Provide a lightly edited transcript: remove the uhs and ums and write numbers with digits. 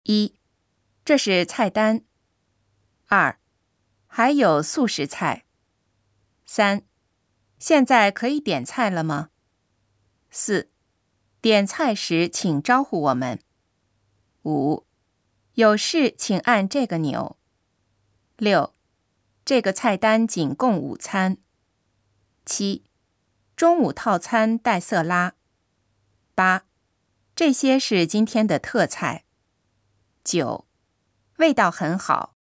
1. 这是菜单。2. 还有素食菜。3. 现在可以点菜了吗？ 4. 点菜时请招呼我们。5. 有事请按这个钮。6. 这个菜单仅供午餐。7. 中午套餐带色拉。8. 这些是今天的特菜。9. 味道很好。